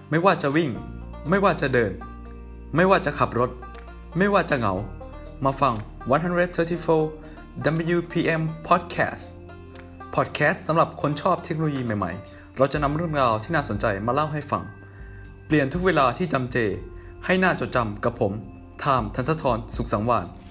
ไม่ว่าจะวิ่งไม่ว่าจะเดินไม่ว่าจะขับรถไม่ว่าจะเหงามาฟัง134 WPM Podcast สำหรับคนชอบเทคโนโลยีใหม่ๆเราจะนำเรื่องราวที่น่าสนใจมาเล่าให้ฟังเปลี่ยนทุกเวลาที่จำเจให้น่าจดจำกับผมไทม์ ธนทร สุขสังวาลย์